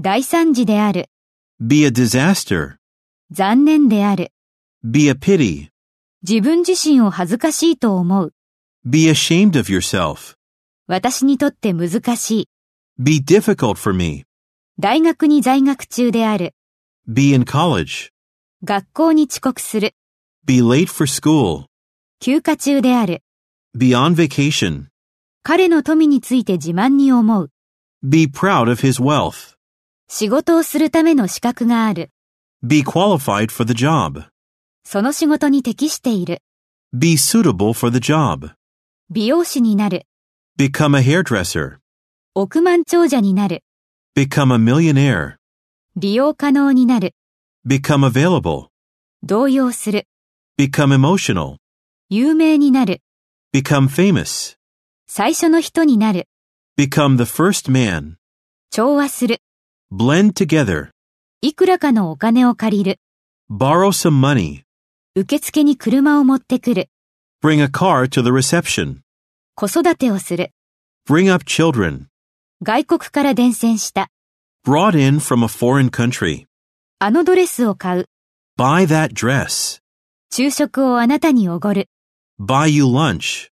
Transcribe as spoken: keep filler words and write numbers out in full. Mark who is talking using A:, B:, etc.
A: 大惨事である。
B: Be a disaster.
A: 残念である。
B: Be a pity.
A: 自分自身を恥ずかしいと思う。
B: Be ashamed of yourself.
A: 私にとって難しい。
B: Be difficult for me.
A: 大学に在学中である。
B: Be in college.
A: 学校に遅刻する。
B: Be late for school.
A: 休暇中である。
B: Be on vacation.
A: 彼の富について自慢に思う。
B: Be proud of his wealth.
A: 仕事をするための資格がある。
B: Be qualified for the job.
A: その仕事に適している。
B: Be suitable for the job.
A: 美容師になる。
B: Become a hairdresser.
A: 億万長者になる。
B: Become a millionaire.
A: 利用可能になる。
B: Become available.
A: 動揺する。
B: Become emotional.
A: 有名になる。
B: Become famous.
A: 最初の人になる。
B: Become the first man.
A: 調和する。
B: Blend together.
A: いくらかのお金を借りる。
B: Borrow some money.
A: 受付に車を持ってくる。
B: Bring a car to the reception.
A: 子育てをする。
B: Bring up children.
A: 外国から伝染した。
B: Brought in from a foreign country.
A: あのドレスを買う。
B: Buy that dress.
A: 昼食をあなたにおごる。
B: Buy you lunch.